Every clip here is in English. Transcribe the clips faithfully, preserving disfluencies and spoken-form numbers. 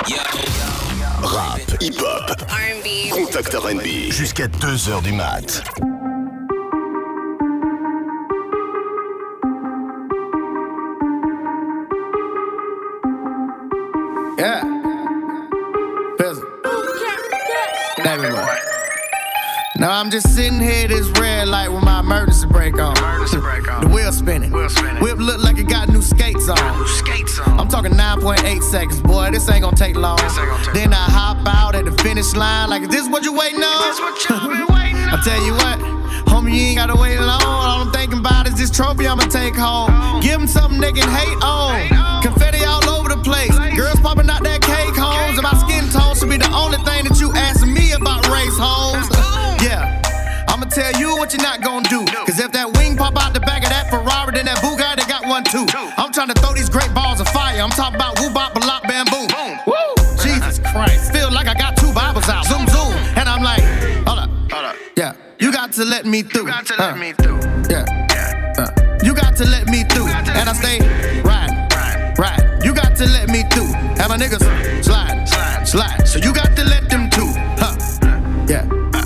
Rap, hip-hop, R and B, Contact R and B, jusqu'à deux heures du mat. Yeah. Pizzle. Everywhere. Now I'm just sitting here this red light with my emergency brake on. Emergency brake on. The wheel spinning. Wheel spinning. Whip look like it got new skates on. Got new skates on. I'm talking nine point eight seconds, boy. This ain't gonna take long. This ain't gonna take then I hop out at the finish line like, is this what you waiting on? This what you been waiting on. I tell you what, homie, you ain't gotta wait long. All I'm thinking about is this trophy I'ma take home. Oh. Give them something they can hate on. Hate on. Confetti all over the place. Place. Girls popping out that cake homes. And my skin tone should be the only thing that you asking me about race homes. Yeah. I'ma tell you what you're not gonna do. Cause if that wing pop out the back of that Ferrari, then that Bugatti got one too. I'm trying to throw these great balls of fire. I'm talking about woo bop, balop, bam, boom. Woo! Jesus Christ. Feel like I got two Bibles out. Zoom, zoom. And I'm like, hold up. Hold up. Yeah. You got to let me through. You got to uh, let me through. Yeah. Yeah. Uh, you got to let me through. got to And I let stay me riding, Right. riding. You got to let me through. Have my niggas slide, Slide. slide. So you got to let them too. Huh. Yeah.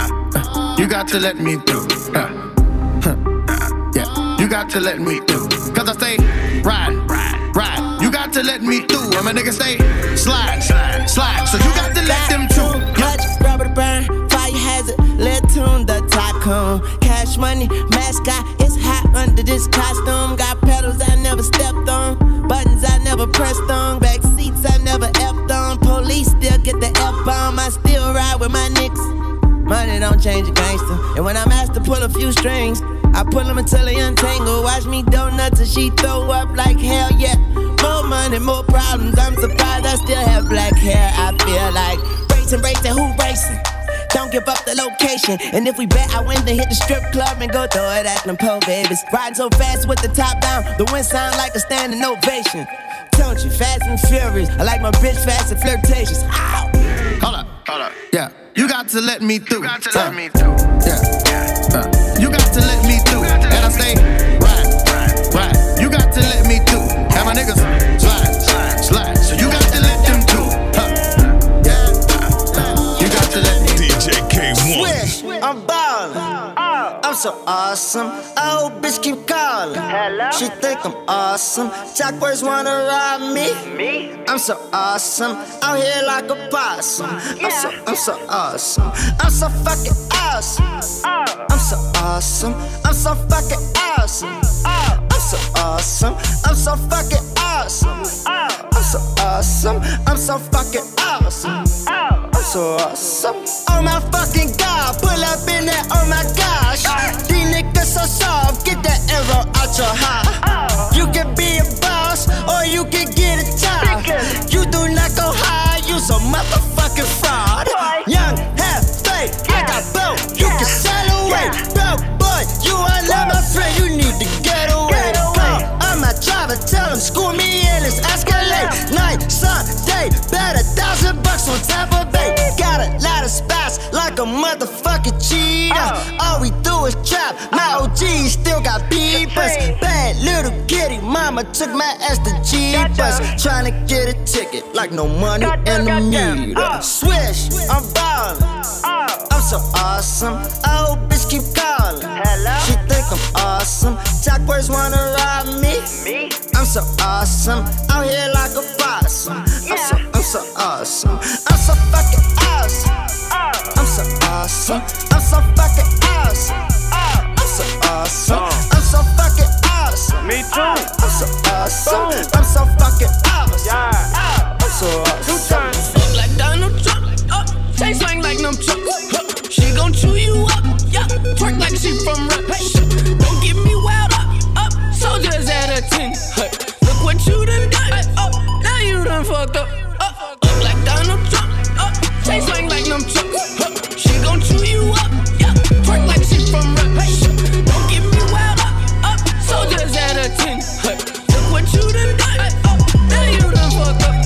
You got to let me through. Uh, huh. Yeah, you got to let me through. Cause I stay riding, ride, ride. You got to let me through. And my niggas stay slide, slide, slide. So you got to let them too. Clutch, rubber to burn, fire hazard, lead tune, the tycoon. Cash money, mascot, it's hot under this costume. Got pedals I never stepped on, buttons I never pressed on, back seats I never effed on. Police still get the F-bomb, I still ride with my niggas. Money don't change a gangster. And when I'm asked to pull a few strings, I pull them until they untangle. Watch me donuts and she throw up like hell, yeah. More money, more problems. I'm surprised I still have black hair. I feel like racing, racing, who racing? Don't give up the location. And if we bet, I win, then hit the strip club and go throw it at them po babies. Riding so fast with the top down, the wind sound like a standing ovation. Don't you, fast and furious. I like my bitch fast and flirtatious. Ow! Hold up, Hold up. yeah. You got to let me through. You got to Uh, let me through. Yeah. Yeah. Uh, you got to let me through. got to And I let stay me right, Right. right. You got to let me through. Have my niggas slide, Slide. slide. So you got to let them through. Huh. Yeah. Uh, you got to let me D J K one. Swish, I'm ballin'. I'm so awesome. I hope bitch keep calling. Hello? She think I'm awesome. Jackboys wanna rob me. Me? I'm so awesome. Out here like a possum. I'm so, I'm so awesome. I'm so fucking awesome. I'm so awesome. I'm so fucking awesome. I'm so awesome. I'm so fucking awesome. I'm so awesome. I'm so fucking awesome. I'm so awesome. Oh my fucking god, pull up in there, oh my gosh. These niggas so soft, get that arrow out your heart. You can be a boss, or you can get a job. You do not go high, you so motherfucking fraud. Young, half faith, I got both, you can sail away. Bro, boy, you are not my friend, you need to get away. Play, I'm a driver, tell him, school me in this Escalade. Night, sun, day, bet a thousand bucks on Tampa Bay. Got a lot of spots, like a motherfucking cheater. All we do is trap, my O Gs still got beepers. Bad little kitty, mama took my ass to Jeepers. Tryna get a ticket, like no money in the meter. Swish, I'm ballin'. I'm so awesome, I hope bitch keep calling. She think I'm awesome, Jackboys wanna rob me. I'm so awesome, out here like a possum. I'm so, I'm so awesome, I'm so fucking awesome. I'm so awesome, I'm so fucking awesome. I'm so awesome, I'm so fucking awesome. Me too. I'm so awesome, I'm so fucking awesome. I'm so awesome. Fuck like Donald Trump. Uh, chain swing like them trucks. Uh, she gon' chew you up. Yeah, twerk like she from rap. Hey, don't get me wild up. Up, soldiers at a ten. Hey, look what you done done. Hey, up, now you done fucked up. Up, up like Donald Trump. Up, chain swing like them trucks. Uh, she gon' chew you up. Yeah, twerk like she from rap. Hey, don't get me wild up. Up, soldiers at a ten. Hey, look what you done done. Hey, up, now you done fucked up.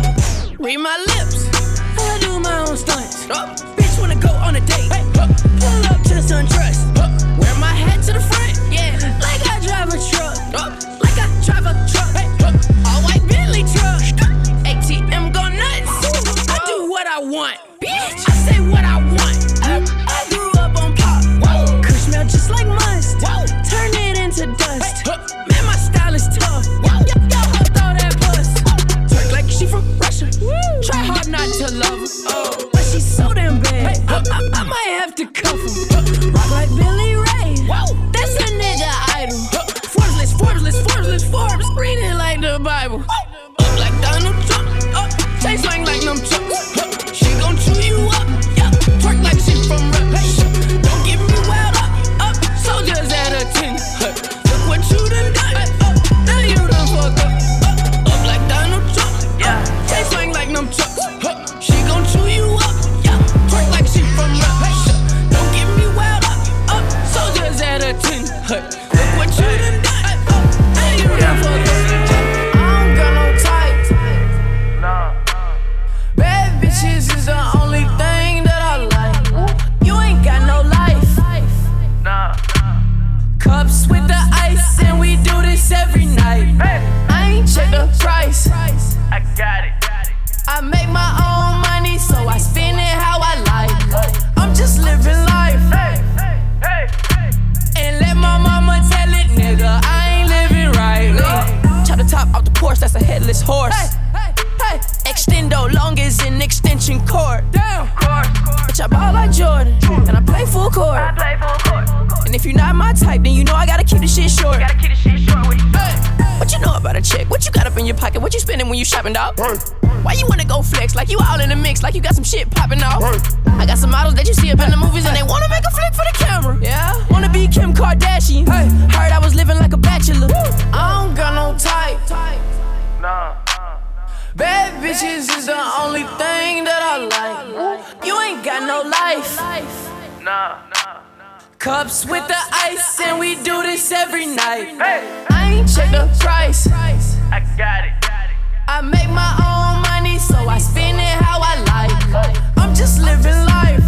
Up, read my lips. I do my own stunts. Uh, bitch wanna go on a date. Hey, uh, pull up just undress. Uh, wear my hat to the front. Yeah, like I drive a truck. Uh, like I drive a truck. Hey, uh, all white Bentley truck. Uh, A T M go nuts. want, bitch. I say what I want. I, I grew up on pop. Whoa. Kush smell just like must. Whoa. Turn it into dust. Hey. Man, my style is tough. Y'all throw that bus. Twerk like she from Russia. Woo. Try hard not to love her, oh. But she's so damn bad. Hey. I, I, I might have to cuff her. Rock like Billy Ray. Whoa. That's a nigga idol. Forbes list, Forbes list, Forbes list, Forbes. Read it like the Bible. Up like Donald Trump. Up. Chain swing like them chucks. She gon' chew you up. Yeah. Twerk like she from rap. Hey. Don't get me wild up. Up. Soldiers at a ten. Hey. Look what you done done. Hey. Up. Now you done fuck up. Up. Up like Donald Trump. Yeah. Chain swing like them chucks. She gon' chew you up. Yeah. Twerk like she from rap. Hey. Don't get me wild up. Up. Soldiers at a ten. Hey. Look what you done done. Hey. Up. Now you done fuck up. Bitches is the only thing that I like. You ain't got no life. Nah. Cups with the ice, and we do this every night. I ain't check the price. I got it. I make my own money, so I spend it how I like. I'm just living life. And let my mama tell it, nigga, I ain't living right. Chop the top off the Porsche, that's a headless horse. Hey, extendo long as an extension cord. Damn, bitch, I ball like Jordan, and I play full court. I play full court. And if you're not my type, then you know I gotta keep the shit short. Gotta keep the shit short. What you hey. What you know about a chick? What you got up in your pocket? What you spending when you shopping, dog? Hey. Why you wanna go flex like you all in the mix, like you got some shit popping off? Hey. I got some models that you see up in the movies, and they wanna make a flick for the camera. Yeah, wanna be Kim Kardashian. Hey. Heard I was living like a bachelor. Woo. I don't got no type. Nah. Bad bitches is the only thing that I like. You ain't got no life. Nah. Cups with the ice, and we do this every night. I ain't check the price. I got it. I make my own money, so I spend it how I like. I'm just living life.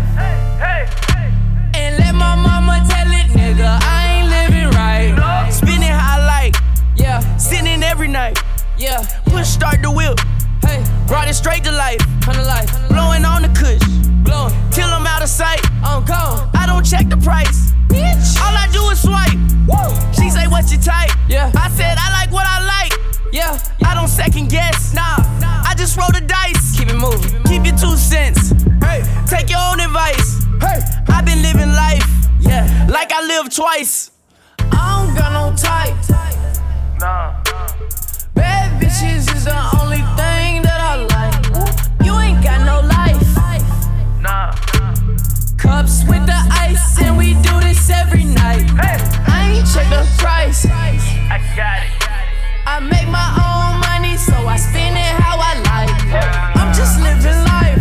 And let my mama tell it, nigga, I ain't living right. Spend it how I like. Yeah, sinning every night. Yeah, push start the whip. Hey, brought it straight to life. Come to life. Blowing on the kush. Blowing till I'm out of sight. I'm gone. I don't check the price. Bitch. All I do is swipe. Woo. She say, what's your type? Yeah. I said, I like what I like. Yeah. I don't second guess. Nah. I just roll the dice. Keep it moving. Keep your two cents. Hey. Take your own advice. Hey. I've been living life. Yeah. Like I lived twice. I don't got no type. Nah. Bad bitches is the only thing that I like. You ain't got no life. Nah. Cups with the ice, and we do this every night. I ain't check the price. I got it. I make my own money, so I spend it how I like. I'm just living life.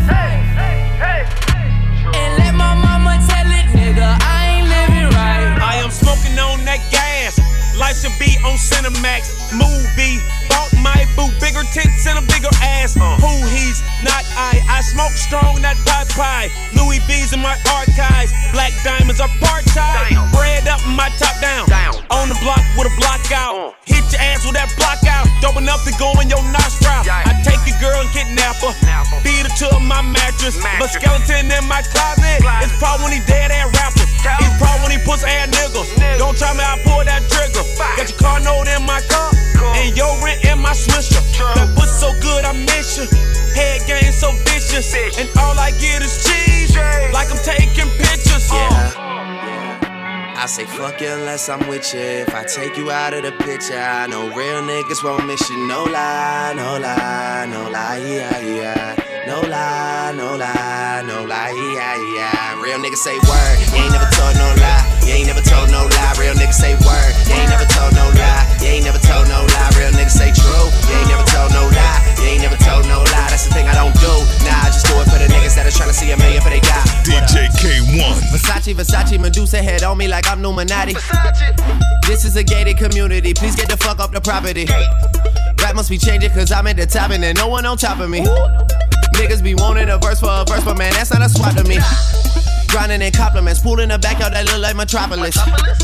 And let my mama tell it, nigga, I ain't living right. I am smoking on that gas. Life should be on Cinemax. Movie. Bought my boo, bigger tits and a bigger ass. Uh. Who he's not I. I smoke strong, not pie pie. Louis V's in my archives. Black diamonds are part-time. Bread up and my top down. down. On the block with a block out. Uh. Hit your ass with that block out. Dope enough to go in your nostril. Yeah. I take a girl and kidnap her. Napper. Beat her to my mattress. mattress. But skeleton in my closet. closet. It's probably when he dead ass rapper. Tell it's probably when he puts ass niggas. niggas. Don't try me, I pull that trigger. Bye. Got your car note in my car. Cool. And your rent in my swisher. True. That pussy so good I miss you. Head game so vicious. Bitch. And all I get is cheese. Cheese. Like I'm taking pictures. Yeah. Uh. I say fuck you unless I'm with you. If I take you out of the picture, I know real niggas won't miss you. No lie, no lie, no lie, yeah, yeah. No lie, no lie, no lie, yeah, yeah. Real niggas say word, you ain't never told no lie. You ain't never told no lie. Real niggas say word, you ain't never told no lie. You ain't never told no lie. Real niggas say true, you ain't never told no lie. You ain't never told no lie. That's the thing I don't do. Nah, I just do it for the niggas that are trying to see a million for they die. D J K one. Versace, Versace, Medusa head on me like I'm Numinati. This is a gated community. Please get the fuck up the property. Rap must be changing cause I'm at the top and there's no one on top of me. Niggas be wanting a verse for a verse, but man, that's not a swap to me. Grinding in compliments, pool in the backyard that look like Metropolis.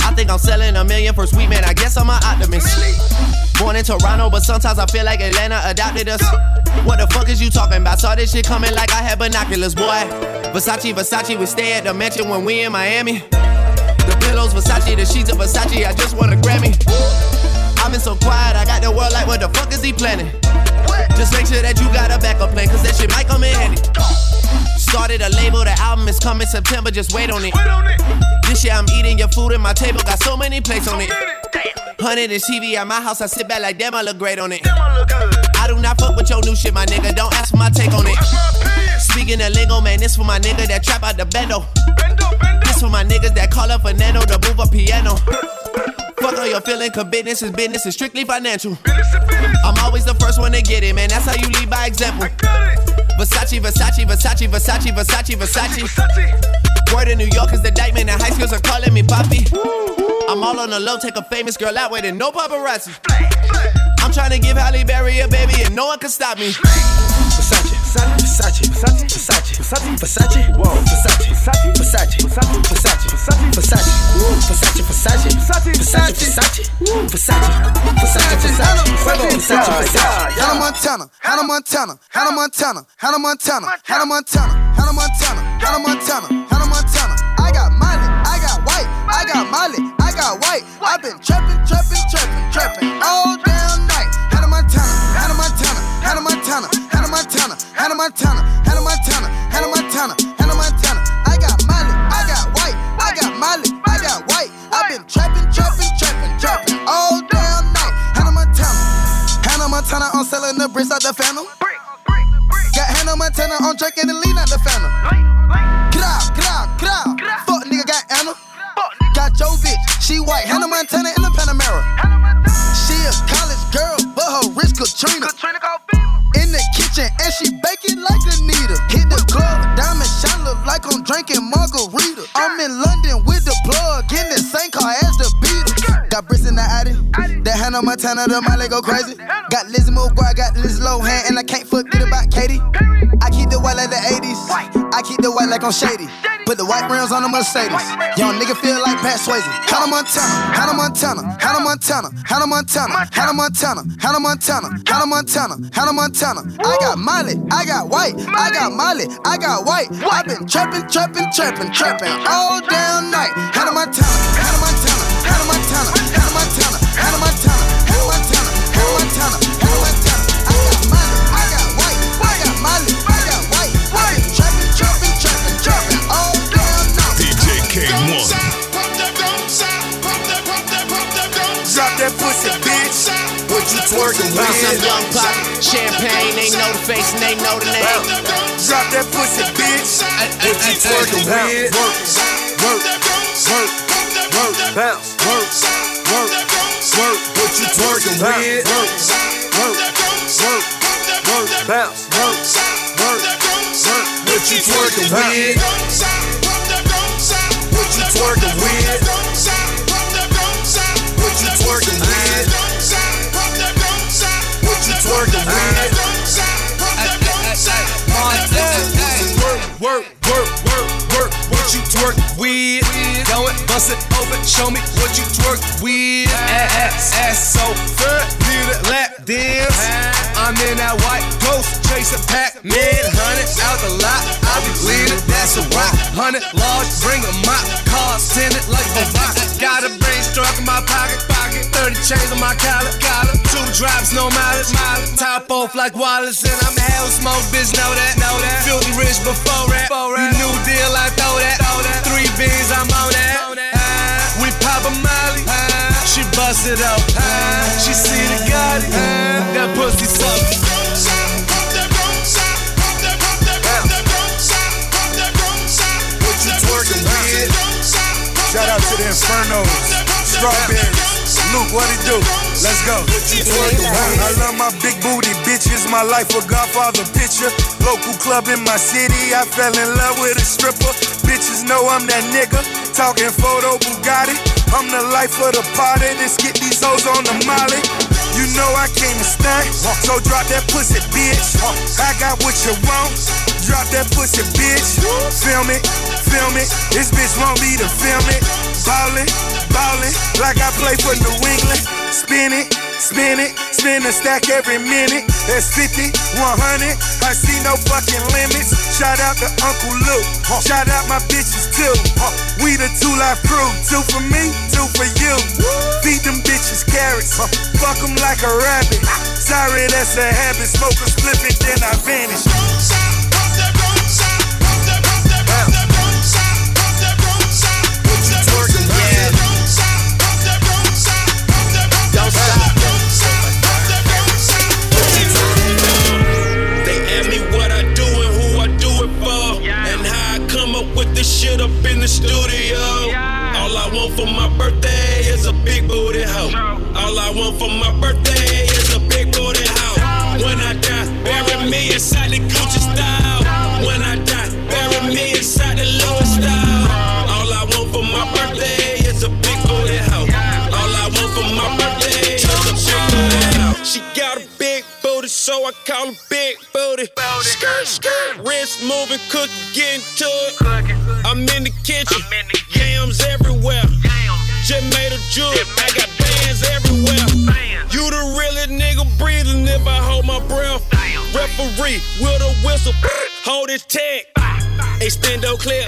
I think I'm selling a million for sweet man, I guess I'm an optimist. Born in Toronto, but sometimes I feel like Atlanta adopted us. What the fuck is you talking about? Saw this shit coming like I had binoculars, boy. Versace, Versace, we stay at the mansion when we in Miami. The pillows, Versace, the sheets of Versace, I just want a Grammy. I've been so quiet, I got the world like, what the fuck is he planning? Just make sure that you got a backup plan, cause that shit might come in handy. Started a label, the album is coming September, just wait on it. This year I'm eating your food and my table got so many plates on it. Hundred inch T V at my house, I sit back like damn, I look great on it. I do not fuck with your new shit, my nigga, don't ask for my take on it. Speaking of lingo, man, this for my nigga that trap out the bendo. This for my niggas that call up Fernando to move a piano. Fuck all your feeling, cause business is business, is strictly financial. I'm always the first one to get it, man, that's how you lead by example. Versace, Versace, Versace, Versace, Versace, Versace. Word in New York is the Dykeman, and high schools are calling me Poppy. I'm all on the low, take a famous girl out with it, no paparazzi. I'm trying to give Halle Berry a baby and no one can stop me. Versace, Versace, Versace, Versace, Versace, Versace, whoa, Versace, Versace, Versace, Versace, Versace, Versace, Versace, Versace, Versace, Versace, Versace, Versace, Versace, Versace, Versace. Hannah Montana, Hannah Montana, Hannah Montana, Hannah Montana, Hannah Montana, Hannah Montana, Hannah Montana, Hannah Montana. I got Miley, I got white, I got Miley, I got white. I've been trapping, trapping, trapping, trapping all damn night. Hannah Montana, Hannah Montana, Hannah Montana, Hannah Montana, Hannah Montana, Hannah Montana, Hannah Montana, Hannah Montana. I got Miley, I got white, I got Miley, I got white. I've been trapping, trapping, trapping, trapping all damn night. Hannah Montana, Hannah Montana on selling the bricks out the Phantom. Got Hannah Montana on drinking the lean out the Phantom. Grab, grab, grab. Fuck nigga got Anna. Got Joe bitch, she white. Hannah Montana in the Panamera. She a college girl, but her wrist Katrina. In the kitchen and she baking like Anita. Hit the club, diamond shine look like I'm drinking margarita. I'm in London with the plug, in the same car as the Beatles. Got bricks in the Addy, that Hannah Montana, the Miley go crazy. Got Lizzie McGuire, got Liz Lohan, and I can't forget about Katy. I keep the white like the eighties, I keep the white like I'm shady. Put the white rims on the Mercedes. Young nigga feel like Pat Swayze. Hannah Montana, Hannah Montana, Hannah Montana, Hannah Montana, Hannah Montana, Hannah Montana, Hannah Montana, Hannah Montana. I got Miley, I got white, I got Miley, I got white. I've been trapping, trapping, trapping, trapping all damn night. Hannah Montana, Hannah Montana, Hannah Montana, Hannah Montana, Hannah Montana, Hannah Montana, Hannah Montana, Hannah Montana. I got Miley, I got white, I got Miley, I got white. I've been trapping, trapping, trapping, trapping all damn night. D J K one. Drop that pussy, bitch. What you twerking with? Bounce up, young pop, champagne, they know the face and they know the name. Drop that pussy, bitch. What you twerking with? Work, work, work, work, bounce, work, work, work. What you twerking with? Work, work, work, work, bounce, work, work, work. What you twerking with? What you twerking with? What you twerking with? What you twerking with? Work, work, work, work, work. What you twerk with? Go it, bust it open, show me what you twerk with. Ass, ass so good, need a lap dance. I'm in that white ghost, chasing Pac-Man. Hundred out the lot, I be leading, that's a rock. Hundred large, bring a mop, cars tinted like a rock. Got a brain struck in my pocket, pocket. Thirty chains on my collar, collar. Two drops, no mileage, mileage. Top off like Wallace, and I'm hell smoke, bitch, know that, know that. Filthy rich before rap, you new deal, I throw that, throw that. Three beans, I'm on that. Uh, we pop a Molly, uh, she bust it up. Uh, she see the Gotti, uh, that pussy suck. What you twerking with? Shout out to the Infernos, Strawberries, Luke, what it do? Let's go. I love my big booty bitches, my life a Godfather picture. Local club in my city, I fell in love with a stripper. Bitches know I'm that nigga, talking photo Bugatti. I'm the life of the party, let's get these hoes on the molly. You know I came to stunt, so drop that pussy, bitch. I got what you want, drop that pussy, bitch. Film it, film it, this bitch want me to film it. Ballin', ballin', like I play for New England. Spin it, spin it, spin a stack every minute. That's fifty, one hundred, I see no fucking limits. Shout out to Uncle Luke, shout out my bitches too. We the two life crew, two for me, two for you. Feed them bitches carrots, fuck them like a rabbit. Sorry, that's a habit, smoke a split it, then I vanish. Shit up in the studio. All I want for my birthday is a big booty hoe. All I want for my birthday is a big booty hoe. When I die, bury me inside the Gucci style. When I die, bury me inside the Louis style. All I want for my birthday is a big booty hoe. All I want for my birthday is a big booty hoe. She got a big booty, so I call her big booty. Skirt, skirt, wrist moving, cooking, getting to it. I'm in the kitchen, yams everywhere. Just made a jewel, I got bands everywhere. You the realest nigga breathing if I hold my breath. Referee with a whistle, hold his tag. Extendo clip,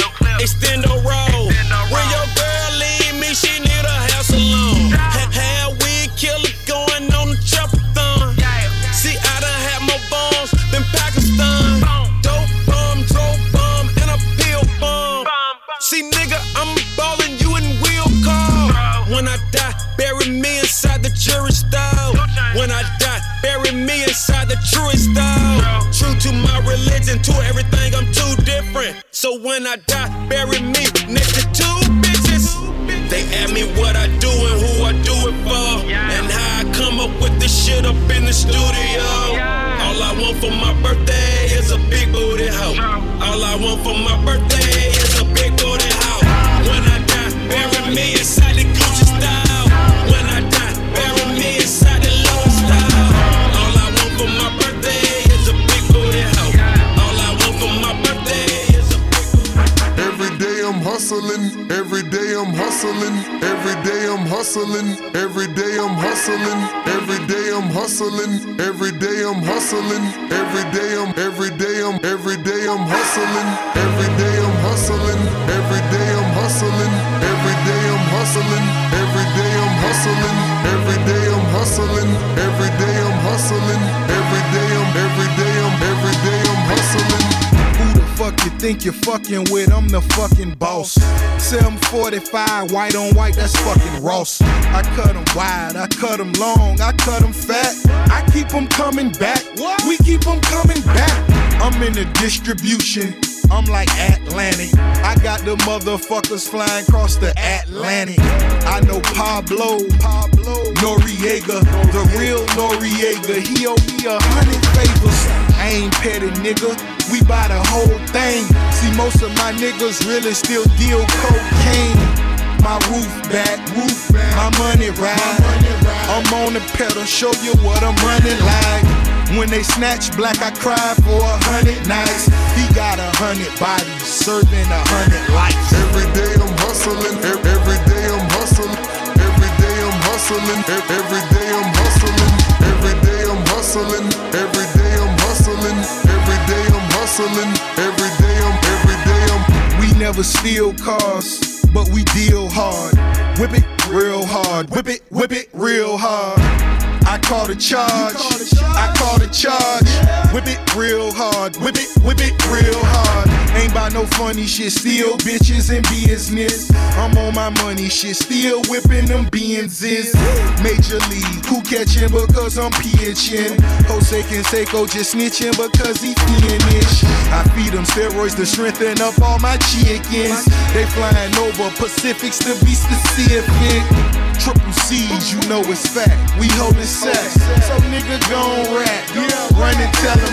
extendo roll. When your girl leave me, she need a hair salon. Hair weed killer going on the chopper-thon. See, I done had more bombs than Pakistan. Dope bomb, dope bomb, and a pill bomb. See, nigga, I'm ballin', you in wheel car. When I die, bury me inside the jury style. When I die, bury me inside the truest style. True to my religion, to everything, I'm too different. So when I die, bury me next to two bitches. They ask me what I do and who I do it for, and how I come up with this shit up in the studio. All I want for my birthday is a big booty hoe. All I want for my birthday is a big booty hoe. When I die, bury me inside the Gucci style. When I die, bury me inside the Louis style. All I want for my birthday is a big booty hoe. All I want for my birthday is a big booty hoe. Every day I'm hustling, every day I'm hustling, every day I'm hustling, every day I'm hustling, every day I'm hustling, every day I'm hustling, every day I'm, every day I'm, every day I'm hustling, every day I'm hustling, every day I'm hustling, every day I'm hustling, every day I'm hustling, every day I'm hustling, every day I'm hustling, every day I'm, every day I'm, every day I'm hustling. Who the fuck you think you're fucking with? I'm the fucking boss. seven forty-five, white on white, that's fucking Ross. I cut them wide, I cut them long, I cut them fat. I keep them coming back, we keep them coming back. I'm in the distribution, I'm like Atlantic. I got the motherfuckers flying across the Atlantic. I know Pablo, Pablo Noriega, the real Noriega. He owe me a hundred favors. I ain't petty, nigga. We buy the whole thing. See, most of my niggas really still deal cocaine. My roof back, roof back. My money ride. I'm on the pedal, show you what I'm running like. When they snatch black, I cry for a hundred nights. He got a hundred bodies, serving a hundred lives. Every day I'm hustling, every day I'm hustling, every day I'm hustling, every day I'm hustling, every day I'm hustling, every day I'm hustling, every day I'm hustling, every day I'm, every day I'm. We never steal cars, but we deal hard. Whip it real hard, whip it, whip it real hard. I call the charge, I call the charge. Whip it real hard, whip it, whip it real hard. Ain't by no funny shit, still bitches in business. I'm on my money shit, still whipping them Benzes. Major league, who catching because I'm pitching. Jose Canseco just snitching because he finish. I feed them steroids to strengthen up all my chickens. They flying over Pacifics to be specific. Triple C's, you know it's fact. We holding sex, so nigga gon' rap. Run and tell them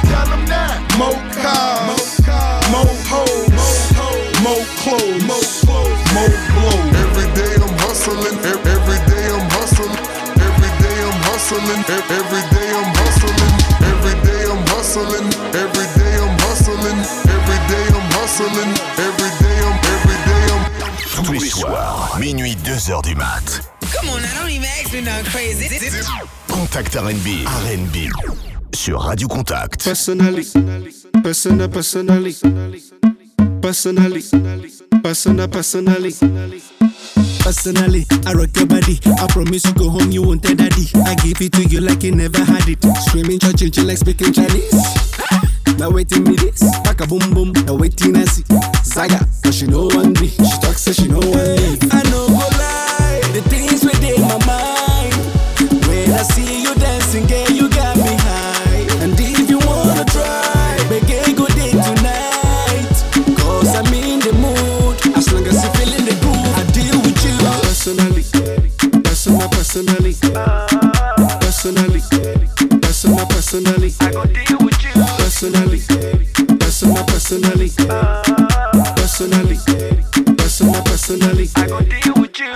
that. More cars, more hoes, more clothes, more blows. Every day I'm hustling, every day I'm hustling, every day I'm hustling, every day I'm hustling, every day I'm hustling, every day I'm hustling, every day I'm hustling, every day I'm, every day I'm. Tous les soir, minuit, deux heures du mat. Come on, now don't even ask me nothing crazy. Contact R and B. R and B. Sur Radio Contact. Personally, persona, personally, personally, persona, personally. Personally, I rock your body. I promise you go home, you won't tell daddy. I give it to you like you never had it. Screaming, church, like speaking Chinese. Now waiting me this, pack a boom boom. Now waiting I see Zaga, but she know one me. She talk say she know one leave. I know go lie, the things within my mind. When I see you dancing, girl, you got me high. And if you wanna try, begin good day tonight. Cause I'm in the mood, as long as you feeling the groove, I deal with you. Personally, personal, personally, personally, personal, personally, I go deal with you. Personally, personal, personally, personally, personal, personally, I go deal with you.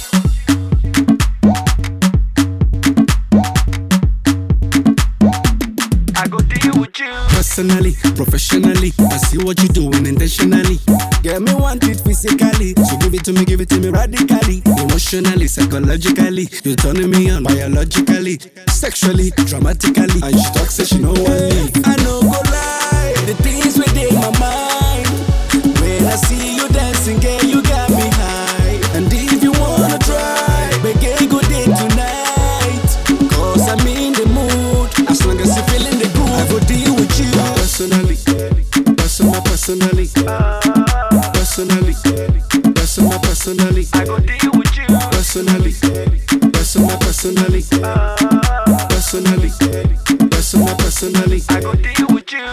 I go deal with you. Personally, professionally, I see what you're doing intentionally. Get me want it physically, so give it to me, give it to me radically. Emotionally, psychologically, you're turning me on biologically, sexually, dramatically. And she talks, say she know one leave. I know go lie, the things within my mind. When I see you dancing, girl, you got me high. And if you wanna try, begin good day tonight. Cause I'm in the mood, as long as you feeling the groove, I go deal with you. Personally, personal, personally, personally, personal, personally, I go deal with you. Personally, personal, personally, personally, personal, personally, I go deal with you.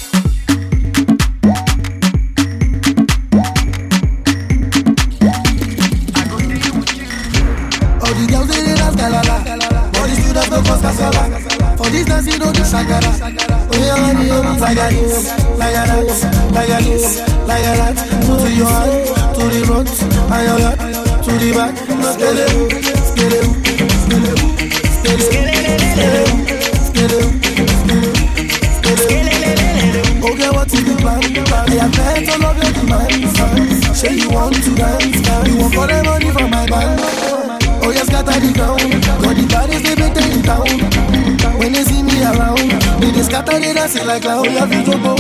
All the girls they dey dance galala, all the students no cause casala. For this dance you know the shakara. Oh yeah, honey, oh, like a this, like a that, like a this, like a that. To your hand, to the front, and your back, to the back. Skele, skele, skele, skele, skele, skele, skele. Okay, what is the plan? I have met all of your demands. Say you want to dance, you want for the money from my band. Oh yes, scatter the ground. Got the bodies they better in town. When they see me around, they just scatter they dance like clown. We have to go.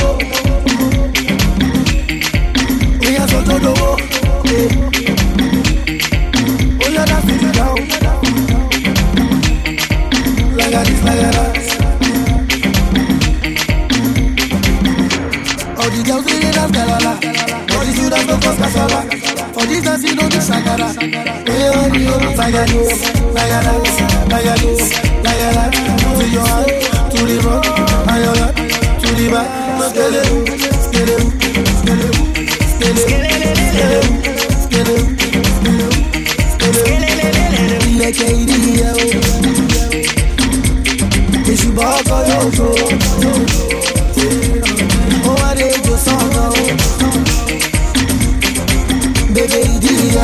We have to go. Oh yeah, that's the ground. Like a this, like a that. All the girls they dance galala, all the students no cause casala. For this dance you know the shakara. Hey honey, oh, like a this, like a that, like a this, like a that. To your hand, to the front, and your back, to the back. Skele, skele, skele, skele, skele, skele, skele, skele. Like a idiot, it's you back on your toe. Oh, I did your song now. Baby, idiot.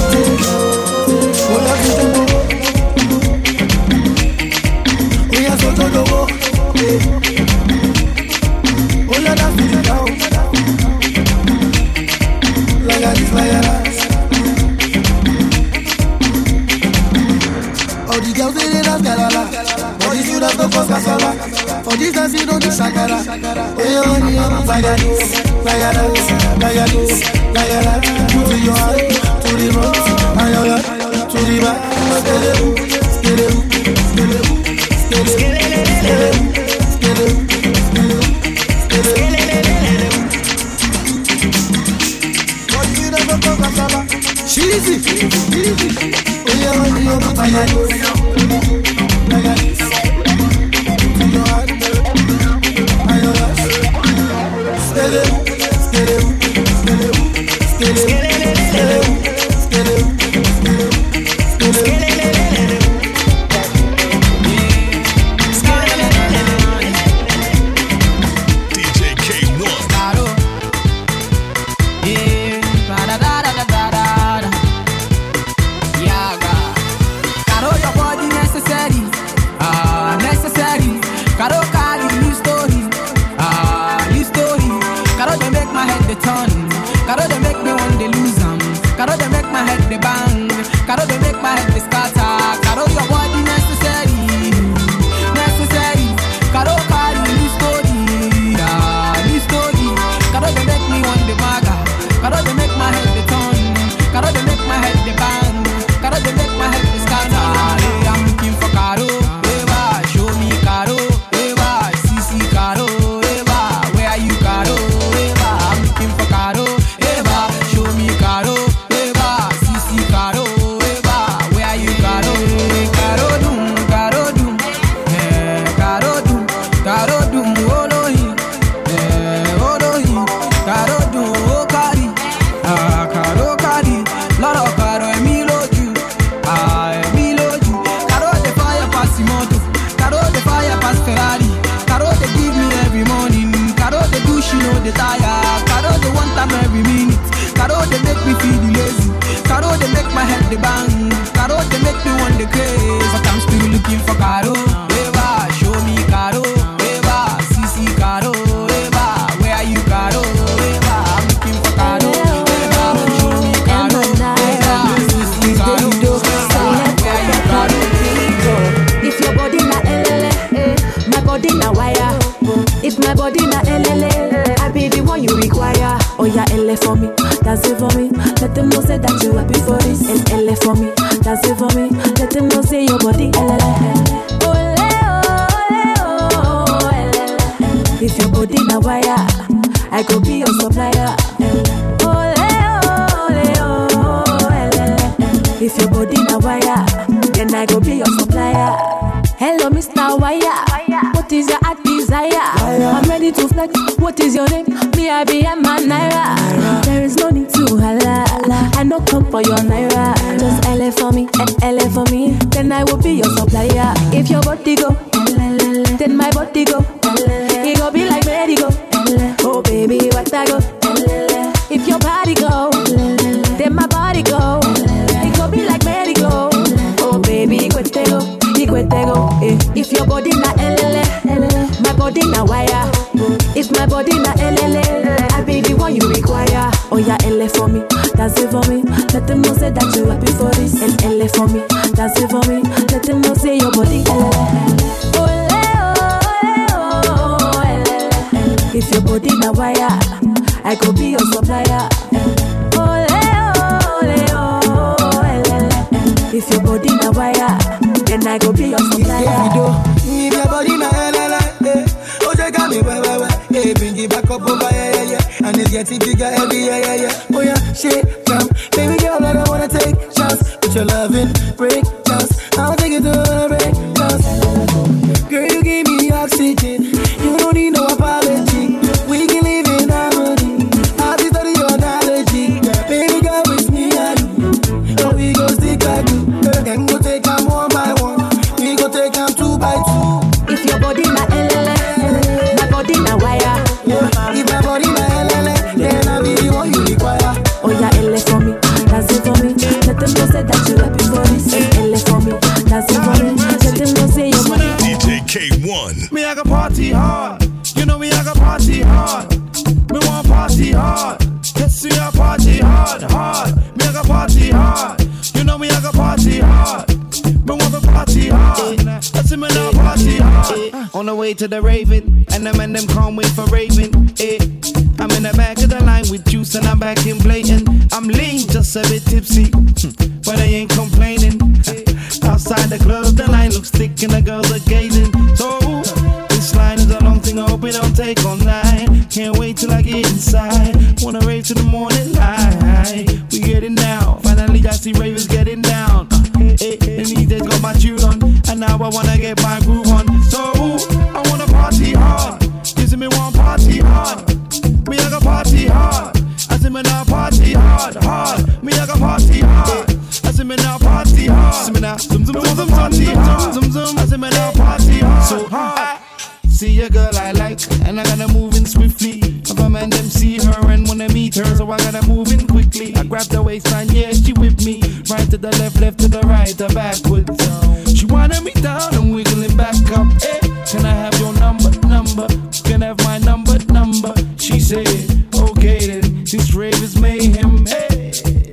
What have you done? We are so to go. Oh, la la, feel it down. Like a this, like a that. All the girls they dance galala, all the students no cause casala. For this dance you know the shakara. Hey honey, oh, like a this, like a that, like a this, like a that. To your hand, to the front, and your back, to the back. Skele, skele, skele, skele, skele, skele, skele. Cheesy, cheesy. Oh yeah, honey, oh, like a this, like a this. To your hand, and your back. Skele, skele, skele, skele, skele, skele, skele, skele. D J K one. Yeah, da da da da da da. Yeah, Caro, your body necessary, ah necessary. Caro, Caro, new story, ah new story. Caro, they make my head the turn. Caro, they make me want to lose 'em. Caro, they make my head the bang. Caro they make my head the scatter. Caro your body necessary, necessary. Caro carry this story, ah, this story. Caro they make me want the maga. Caro they make my head the turn. Caro they make my head the bang. Caro they make my head the scatter. Hey, I'm looking for Caro. Eva, show me Caro. Eva, C C Caro. Eva, where are you Caro? Eva, I'm looking for Caro. Eva, show me Caro. Eva, C C Caro. Eva, where are you Caro? Caro dum, Caro dum, eh, Caro dum, Caro dum, Olohi, eh, Olohi, Caro dum, oh Cari, ah, Caro Cari, Lord of Caro, Emilo Ju, ah, Emilo Ju, Caro the fire pass the moto, Caro the fire pass Ferrari, Caro they give me every morning, Caro the do she know the tire, Caro the one time every minute, Caro they make me feel lazy, Caro they make my head the bang, Caro they make me want the craze, but I'm still looking for Caro. Eva, show me Caro. Eva, C C Caro. Eva, where are you Caro? Eva, I'm looking for Caro. Eva, show me Caro. Eva, C C Caro. Eva, where are you Caro? If your body na elele, my body na wire. If my body na elele, I be the one you require. Oh yeah, ele for me, dance it for me. Let them know say that you happy for this. And ele for me, dance it for me. Let them know say your body elele. Ole oh, ole oh, elele. If your body na wire, I go be your supplier. Ole oh, ole oh, elele. If your body na wire, then I go be your supplier. Hello, Mister Wire. What is your heart desire? I'm ready to flex. What is your name? Me, I be a man, Naira. There is no need to holla. I no come for your Naira. Just L A for me and L A for me. Then I will be your supplier. If your body go, then my body go. It go be like merry-go. Oh baby, what I go? If your body go, then my body go. It go be like merry-go. Oh baby, go te go. If your body na elele, my body na wire. If my body na elele, I be the one you require. Oh yeah, ele for me, dance it for me. Let them know say that you happy for this. And ele for me, dance it for me. Let them know say your body elele. Ole oh, ole oh, elele. If your body na wire, I go be your supplier. Ole oh, ole oh, elele. If your body na wire, then I go be your supplier. If your body na elele, eh, oh you got me wah wah wah, eh, bring it back up over yeah yeah yeah, and it's getting bigger every yeah yeah yeah. Oh yeah, shit, jump, baby girl, I don't wanna take shots, but your loving break dance, I'll take it to a break dance. Girl, you give me oxygen, you don't need no apology. We can live in harmony. I'll be studying your analogy, baby girl, with me and you. Oh, we go stick like glue. Then go take them one by one. We go take them two by two. If your body na elele, my body na wire. If my body na elele, then I be the one you require. Oh yeah, ele for me, dance it for me. Let them know say that you happy for this. Ele for me, dance it for me. Let them know say your body. D J K one. Me I got party hard. You know me I got party hard. Me want party hard. Let's see I party hard, hard. Me I got party hard. You know me I got party hard. Me want to party hard. Let's see me now party hard. On the way to the Raven, and them and them can't wait for Raven. Eh. I'm in the back of the line with juice and I'm back in blatant. I'm lean, just a bit tipsy, but I ain't complaining. Outside the club, the line looks thick and the girls are gazing. So this line is a long thing, I hope it don't take all night. Can't wait till I get inside. Wanna rave to the morning light. We getting down. Finally I see ravers getting down. Uh, eh, eh, and these days got my tune on, and now I wanna get my groove on. So I wanna party hard. Gives me one party hard. Me I got party hard. I say me now party hard, hard. Me I got party hard. I say me now party hard. See me now, zoom zoom zoom zoom party hard. Zoom zoom. I say me now party hard. So hard. See a girl I like, and I gotta move in swiftly. If a man them see her and wanna meet her, so I gotta move in quickly. I grab the waistline, yeah, she with me. Right to the left, left to the right, or backwards. She wanna me down and wiggling back up. Hey, can I have your number, number? Can I have my number, number? She said, okay then, this rave is mayhem. Hey, then I go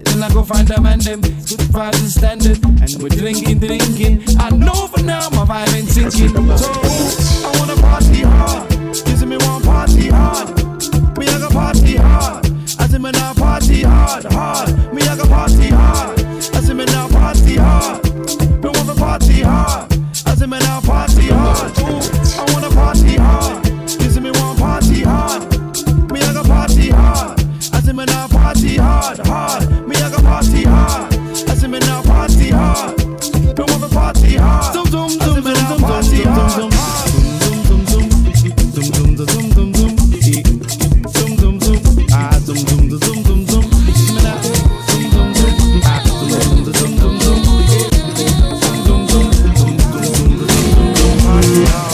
find them and them. Good vibes and standard. And we're drinking, drinking. I know for now my vibe ain't sinking. So I wanna party hard. This me want party hard. Me I go party hard. I say me now party hard, hard. Me I go party hard. I say me now party hard. Me want to party hard. I say me now party hard. Ooh, I wanna party hard. This me want party hard. Me I go party hard. I say me now party hard, hard. Me I go party hard. I say me now party hard. Me want to party hard. Zoom zoom zoom zoom zoom party hard. Zoom zoom zoom zoom zoom zoom zoom zoom zoom. Zoom zoom zoom. Ah zoom zoom zoom zoom zoom zoom. Me now zoom zoom zoom. Ah zoom zoom zoom zoom zoom zoom. Zoom zoom zoom zoom zoom zoom zoom zoom party hard.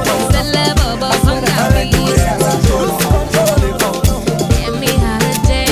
Give me holiday.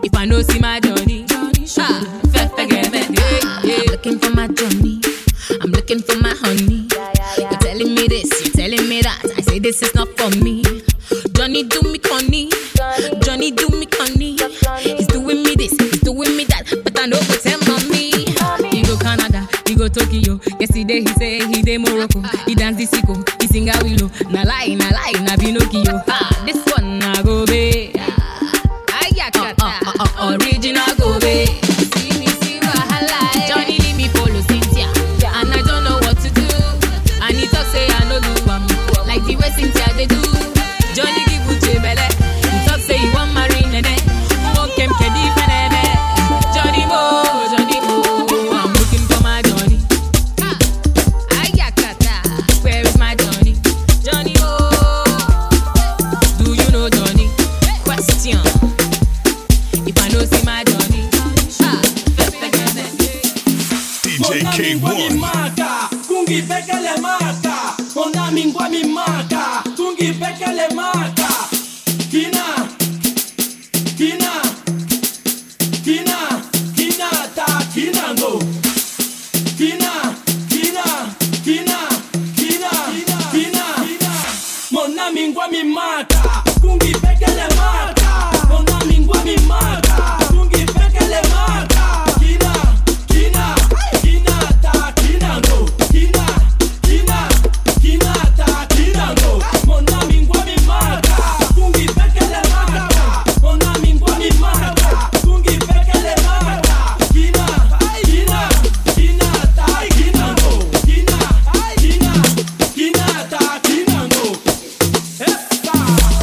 If I know see my Johnny, ah, I'm looking for my Johnny. I'm looking for my honey. You're telling me this, you're telling me that. I say this is not for me. Johnny do me conny, Johnny do me conny. He's doing me this, he's doing me that, but I know go tell mommy. He go Canada, he go Tokyo. Yesterday he say he dey Morocco. He dance the sicko, he sing a willow. Na lie, na lie, na Pinocchio. Ah, this one na go be. Uh, uh, uh, uh, original go be. See me see wahala. Johnny leave me follow Cynthia, and I don't know what to do. And he talk say I no do am like the way Cynthia they do. Johnny give Uche belle. He talk say he want marry Nene. Won't kem kedi fenebe. Johnny Mo, Johnny Mo. I'm looking for my Johnny. Ayakata, where is my Johnny? Johnny Mo. Do you know Johnny? Question. If I know see my Johnny, ah, D J K one. Kungi peke le mata, ona mingwa mi mata, kungi peke le mata. Kina, kina, kina, kina ta kinango. Kina, kina, kina, kina, kina, mona mingwa mi mata, kungi peke le mata, mona mingwa mi mata, kungi peke le mata. Kina, kina, kina ta kinango. Kina, kina, kina ta kinango. Mona mingwa mi mata, kungi peke le mata, mona mingwa mi mata, kungi peke le mata. Kina, kina, kina ta kinango. Kina, kina, kina ta kinango. Esta.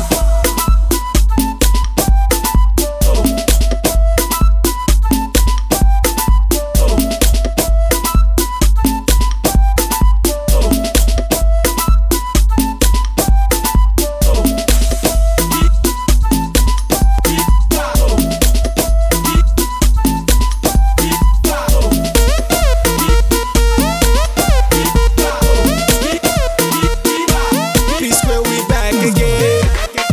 Peace where we back again.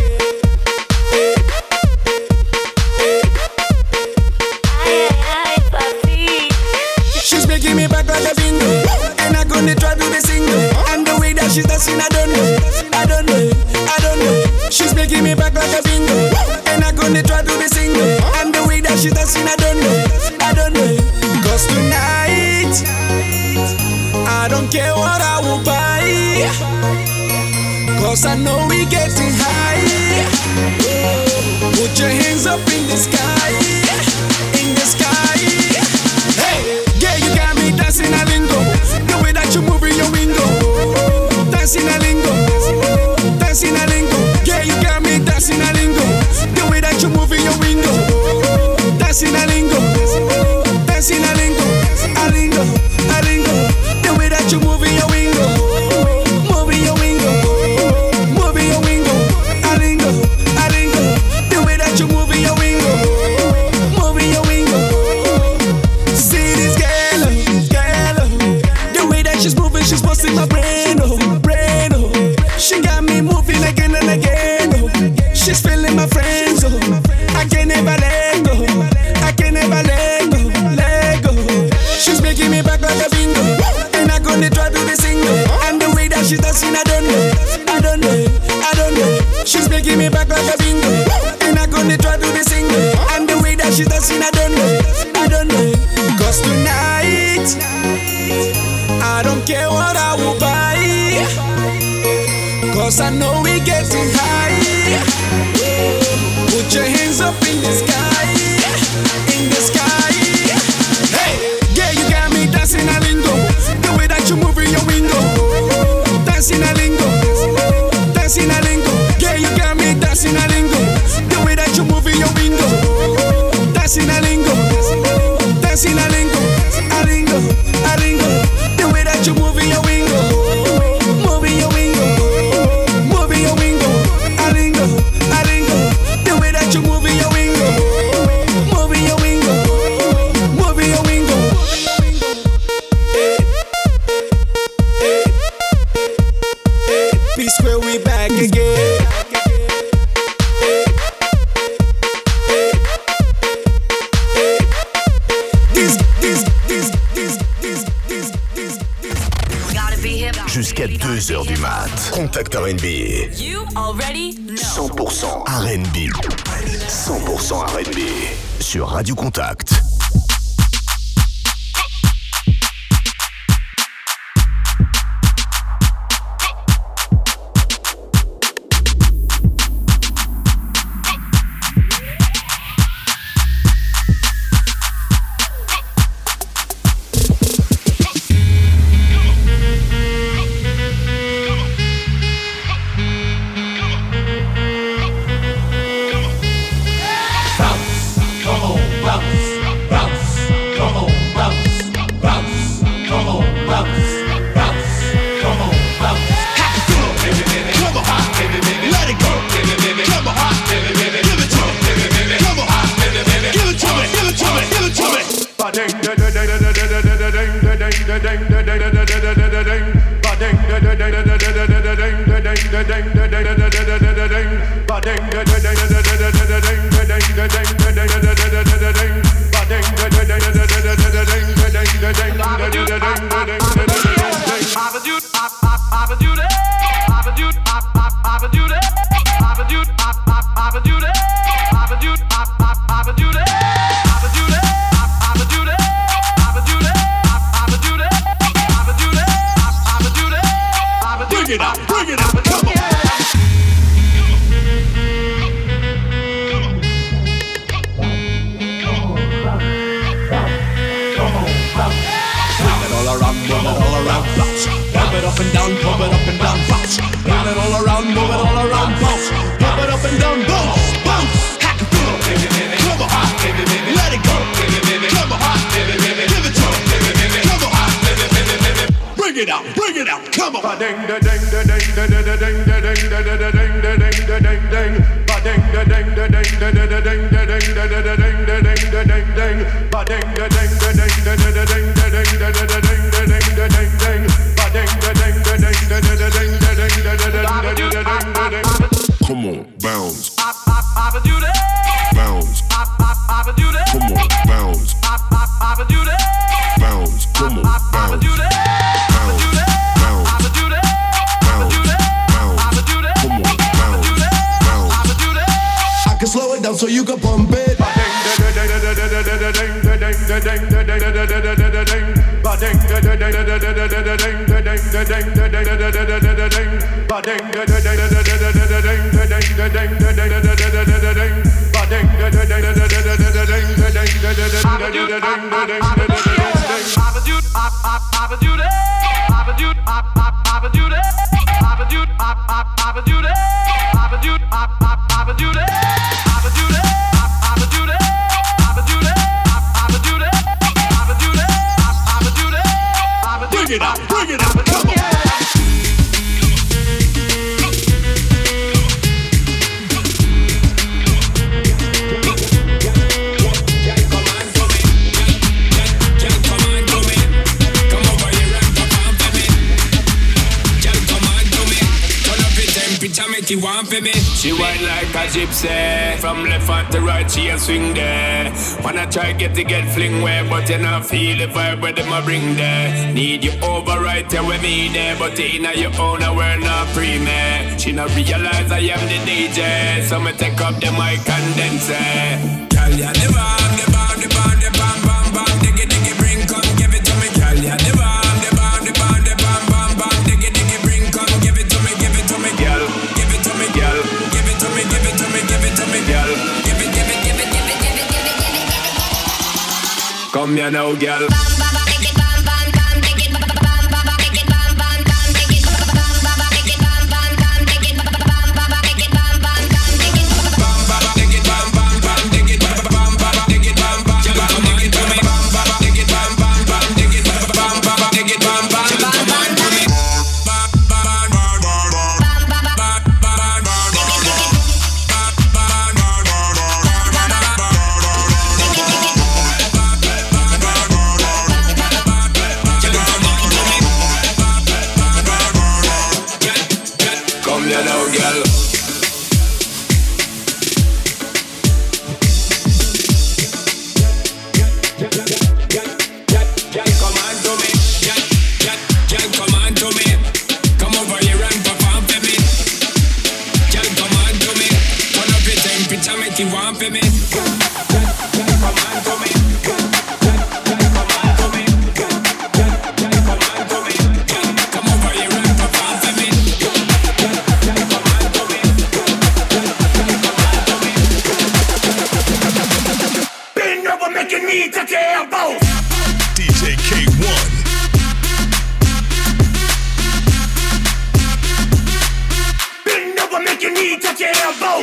She's making me back like a bingo, and I'm gonna try to the single. And the way that she's dancing, I don't know, I don't know, I don't know. She's making me back like a bingo, and I'm gonna try to the single. And the way that she's dancing, I don't know, I don't know. Cause tonight, I don't care what I will buy. Cause I know we getting high. Put your hands up in the sky, in the sky. Hey, yeah, you got me dancing a lingo. The way that you move in your window, dancing a lingo, dancing a lingo. Yeah, you got me dancing a lingo. The way that you move in your window, dancing a lingo, dancing a lingo, a lingo, a lingo. The way that you move in your window, move in your window, move in your window, a lingo, a lingo. The way that you move in your window, move in your window. See this girl, girl, the way that she's moving, she's busting my brain, oh, brain, oh. She got me moving again and again, oh. She's feeling my friends, oh. I can never let go, I can never let go, let go. She's making me back like a bingo, and I'm gonna try to the single. And the way that she's dancing, I don't know, I don't know, I don't know. She's making me back like a bingo, and I'm gonna try to the single. And the way that she's dancing, I don't know, I don't know. Cause tonight, I don't care what I will buy. Cause I know we getting high. Put your hands up in the sky, in the sky. Hey, yeah, you got me dancing a lingo. The way that you move in your window, dancing a lingo, dancing a lingo. Yeah, you got me dancing a lingo. The way that you move in your window, dancing a lingo, dancing a lingo, a lingo, a lingo. The way that you move in your window, move in your window, move in your window, a lingo, a lingo. The way that you move in your window, move in your window, move in your window. Peace where we back again. deux heures du mat. Contact R and B. You already know. cent pour cent R and B. cent pour cent R and B. Sur Radio Contact. Come on, bounce. Bounce. Come on, bounce. Bounce. Come on, bounce. Slow it down so you can pump it. Bring it out, bring it out, come on. Make you want for me. She whine like a gypsy. From left hand to right, she a swing there. Wanna try get to get fling where, but you not feel the vibe where them a bring there. Need you over right there with me there, but in your own and we're not pre-made. She not realize I am the D J, so me take up the mic and then say, girl, ya the bomb, the bomb, the bomb, the bomb, bomb, bomb, diggy, diggy, bring, come give it to me. Girl, ya the bomb, the bomb, the bomb, the bomb, bomb, bomb, diggy, diggy, bring, come give it to me, give it to me, girl. Girl, give it to me, give it to me, give it to me, girl. Give it, give it, give it, give it, give it, give it, give it, give it. Come here now, girl. make your knee touch your elbows. D J K one. Bend over, make your knee touch your elbows.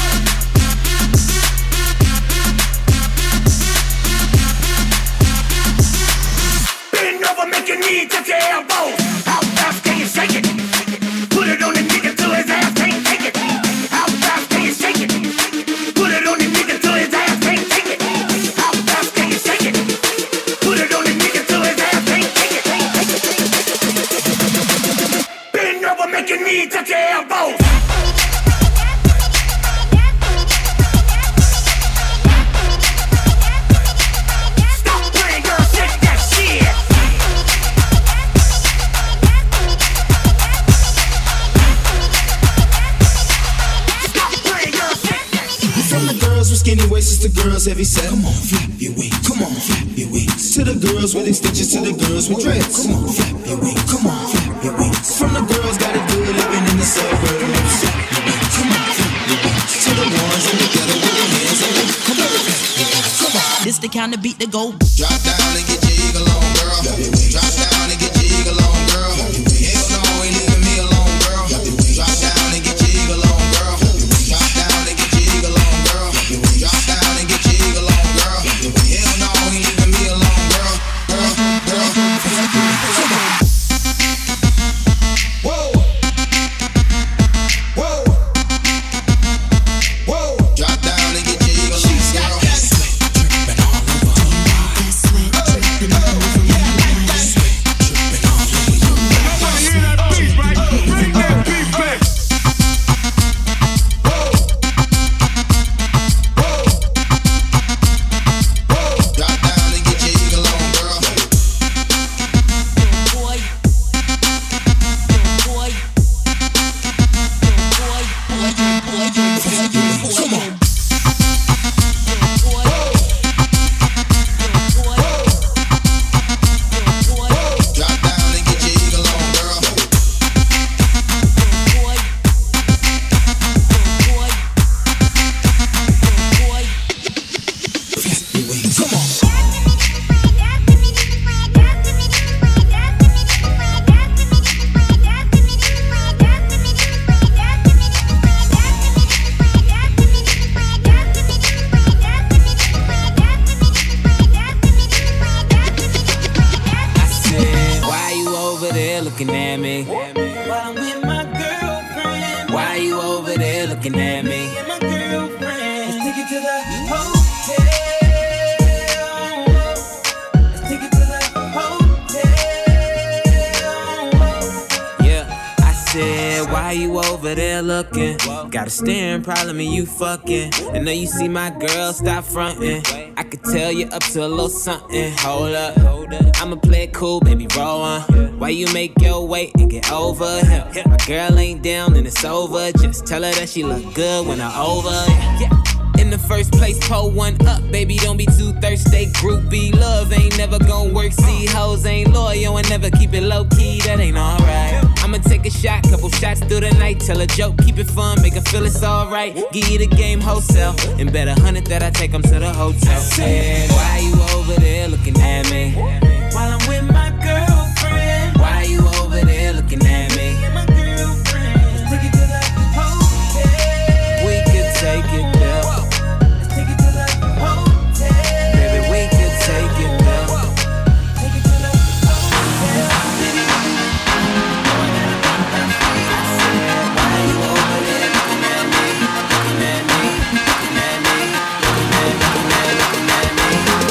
Bend over, make your knee touch your elbows. How fast can you shake it? Put it on the nigga till his ass can't take it. How fast can you shake it? Put it on the nigga till his ass can't take it. How fast can you shake it? Put it on the nigga till his ass can't take it. Bend over, make your knee touch your elbows. Stop playing, girl, shake that shit. From the girls with skinny waists to girls heavy set. Come on, flap your wings. Come on, flap your wings. To the girls with extensions, to the girls with dreads. Come on, flap your wings. Come on, flap your wings. From the girls got it good living in the suburbs. Flap your wings. Come on, flap your wings. To the ones in the ghetto with their hands up. Come on, flap your wings. Come on. This the kind of beat to go. Drop down and get your eagle on, girl. Drop down and get your eagle on, girl. Hell no, ain't leaving me alone, girl. Drop down and get your eagle on, girl. Drop down and get your eagle on, girl. Drop down and get your eagle on, girl. Hell no, ain't leaving me alone, girl. Girl, girl, come on. Whoa. Whoa. Whoa. Drop down and get your eagle on, girl. Dripping all over her body. Sweat dripping all over my body. Sweat dripping all over your body. Hear that beat, right? Bring that beat back. Drop down and get your eagle on, girl. Boy. Boy. Boy. Boy. Boy. Come on. Drop down and get your eagle on, girl. Come on. I said, why you over there looking at me? While I'm with my girlfriend. Why you over there looking at me? And my girlfriend. Let's take it to the hotel. Let's take it to the hotel. Yeah, I said, why you over there looking? Got a staring problem and you fucking. I know you see my girl, stop fronting. I could tell you up to a little something. Hold up, I'ma play it cool, baby, roll on. Why you make your way and get over here? My girl ain't down and it's over. Just tell her that she look good when I'm over. Yeah. In the first place, pull one up, baby, don't be too thirsty. Groupie love ain't never gon' work. See, hoes ain't loyal and never keep it low key. That ain't alright. I'ma take a shot, couple shots through the night. Tell a joke, keep it fun, make her feel it's alright. Give you the game wholesale, and bet a hundred that I take them to the hotel. Said, why you over there looking at me? While I'm with my girlfriend. Why you over there looking at me? And my girlfriend. Let's take it to the hotel. We could take it there. Let's take it to the hotel. Baby, we could take it there. Take it to the hotel. Why you over there looking at me? Looking at me, looking at me, looking at me, looking at me, looking at me.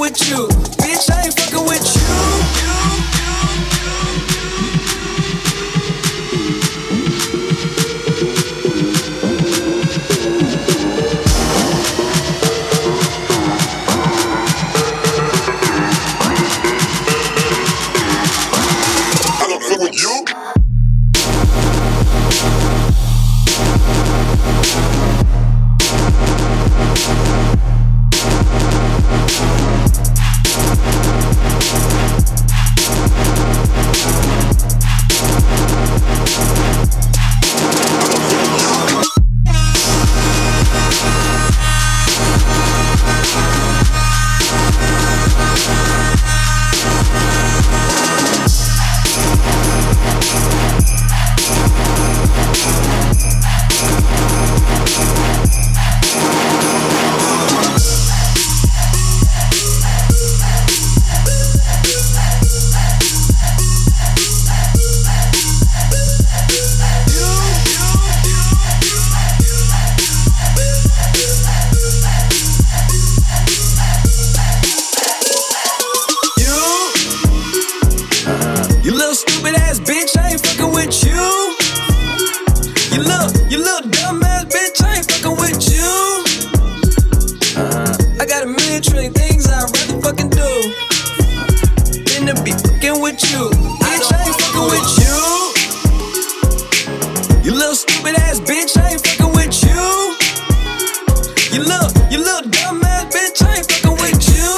with you. Bitch, I ain't fucking with you. I don't fuck with you. You little stupid ass bitch, I ain't fucking with you. You little, you little dumb ass bitch, I ain't fucking with you. I got a million trillion things I'd rather fucking do than to be fucking with you. Bitch, I ain't fucking with you. You little stupid ass bitch, I ain't fucking with you. You little, you little dumb ass bitch, I ain't fucking with you.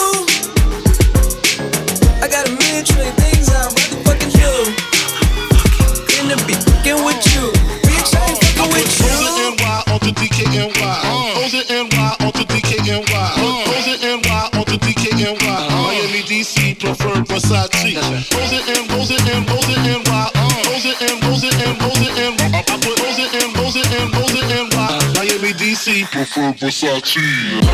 I got a million trillion things I'd rather fucking do than to be fucking with you. Bitch, I ain't fucking with you. O's and N Y on to D K N Y. O's and N Y on to D K N Y. O's and N Y on to D K N Y. Miami, D C, preferred Versace. O's and N, O's and N, O's and N Y. O's and N, O's and N, O's and N. I put O's and N, O's and N, O's and N Y. Miami, D C, preferred Versace.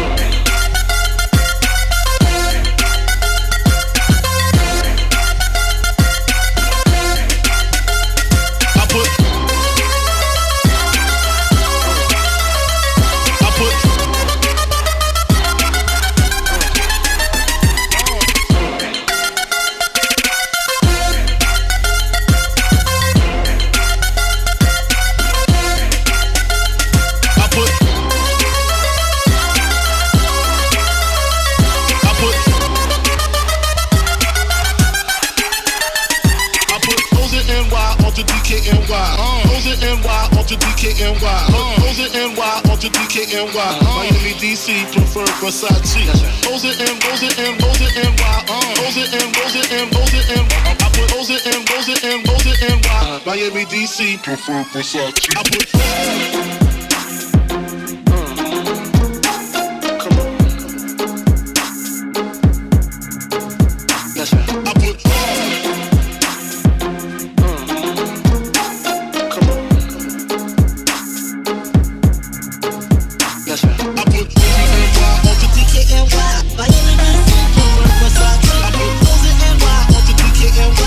D K N Y. O's and N Y on to D K N Y. O's and N Y on to D K N Y. Miami, D C, preferred Versace. O's and N, O's and N, O's and N Y. O's and N, O's and N, O's and N. I put O's and N, O's and N, O's and N Y. Miami, D C, preferred Versace. I put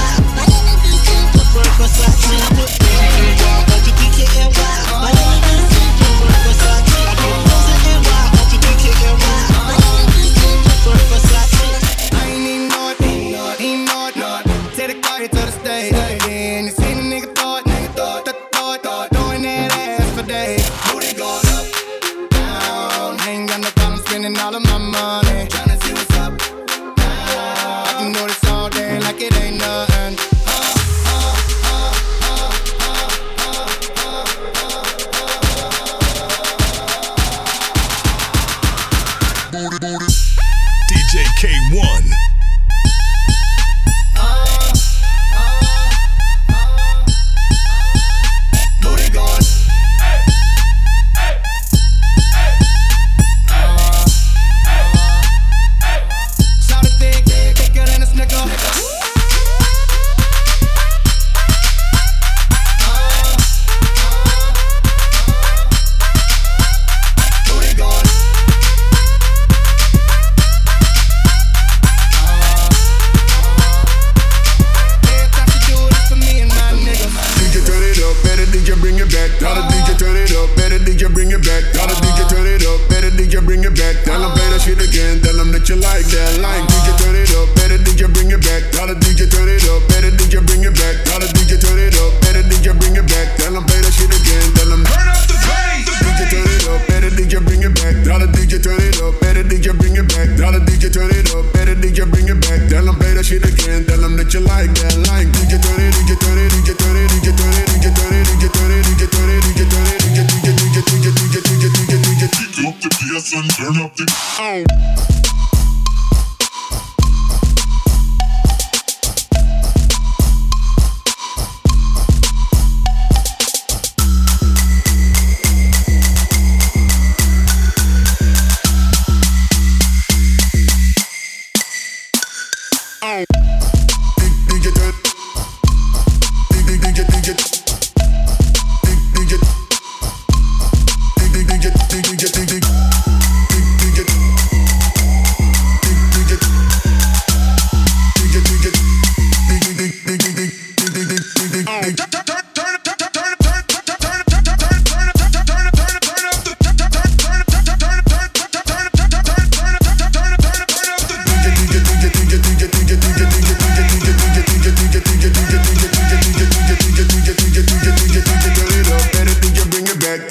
Versace.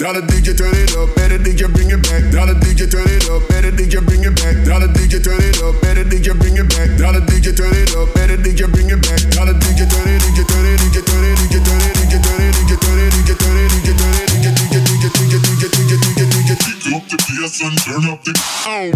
Dollar D J turn it up, better D J bring it back. Dollar D J turn it up, better D J bring it back. Dollar D J turn it up, better D J bring it back. Dollar D J turn it up, better D J bring it back. Dollar D J turn it, D J turn it, D J turn it, D J turn it, D J turn it, D J turn it, D J turn it, D J turn it, D J turn it, D J D J D J D J D J D J D J D J. Up the bass and turn up the oh.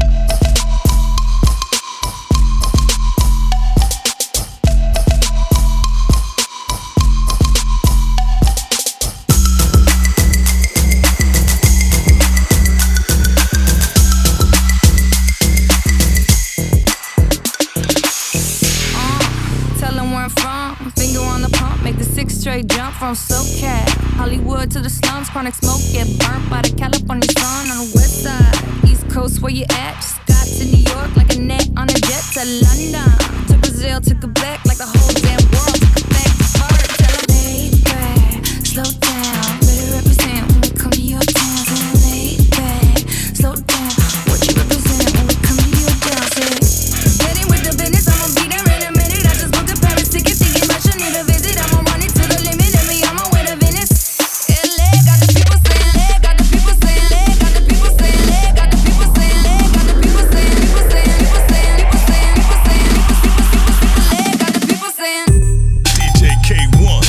Straight jump from SoCal, Hollywood to the slums, chronic smoke, get burnt by the California sun on the west side. East Coast, where you at? Just got to New York like a net on a jet to London. To Brazil, to Quebec, like the whole damn world took a back to bird. Tell them, baby, slow down, better represent when we come to your town. Tell them, baby, slow down, what you represent when we come to your town. Say, get in with the business, I'ma be there in a minute. I just booked a Paris ticket, thinking I should need a visit. I'ma run it to the limit, and me on my way to Venice. L A got the people saying, got the people saying, got the people saying, got the people saying, got the people saying, people saying, people saying, people saying, people saying, got the people saying. D J K one.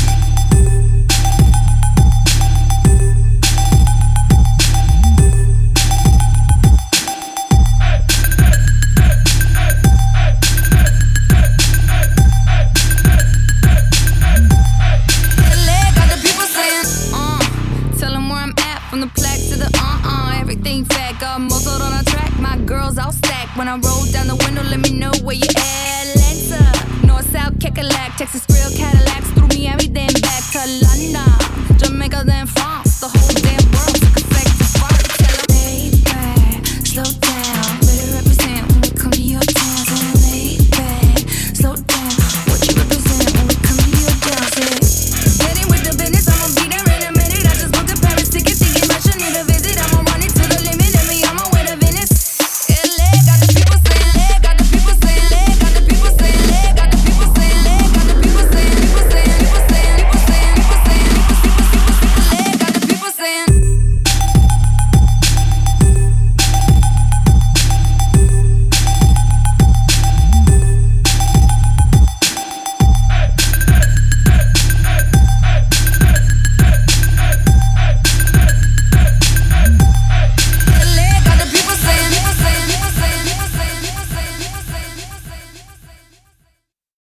When I roll down the window, let me know where you at. Atlanta, North, South, Kekalak, Texas, real Cadillacs through Miami, then back to London, Jamaica, then France.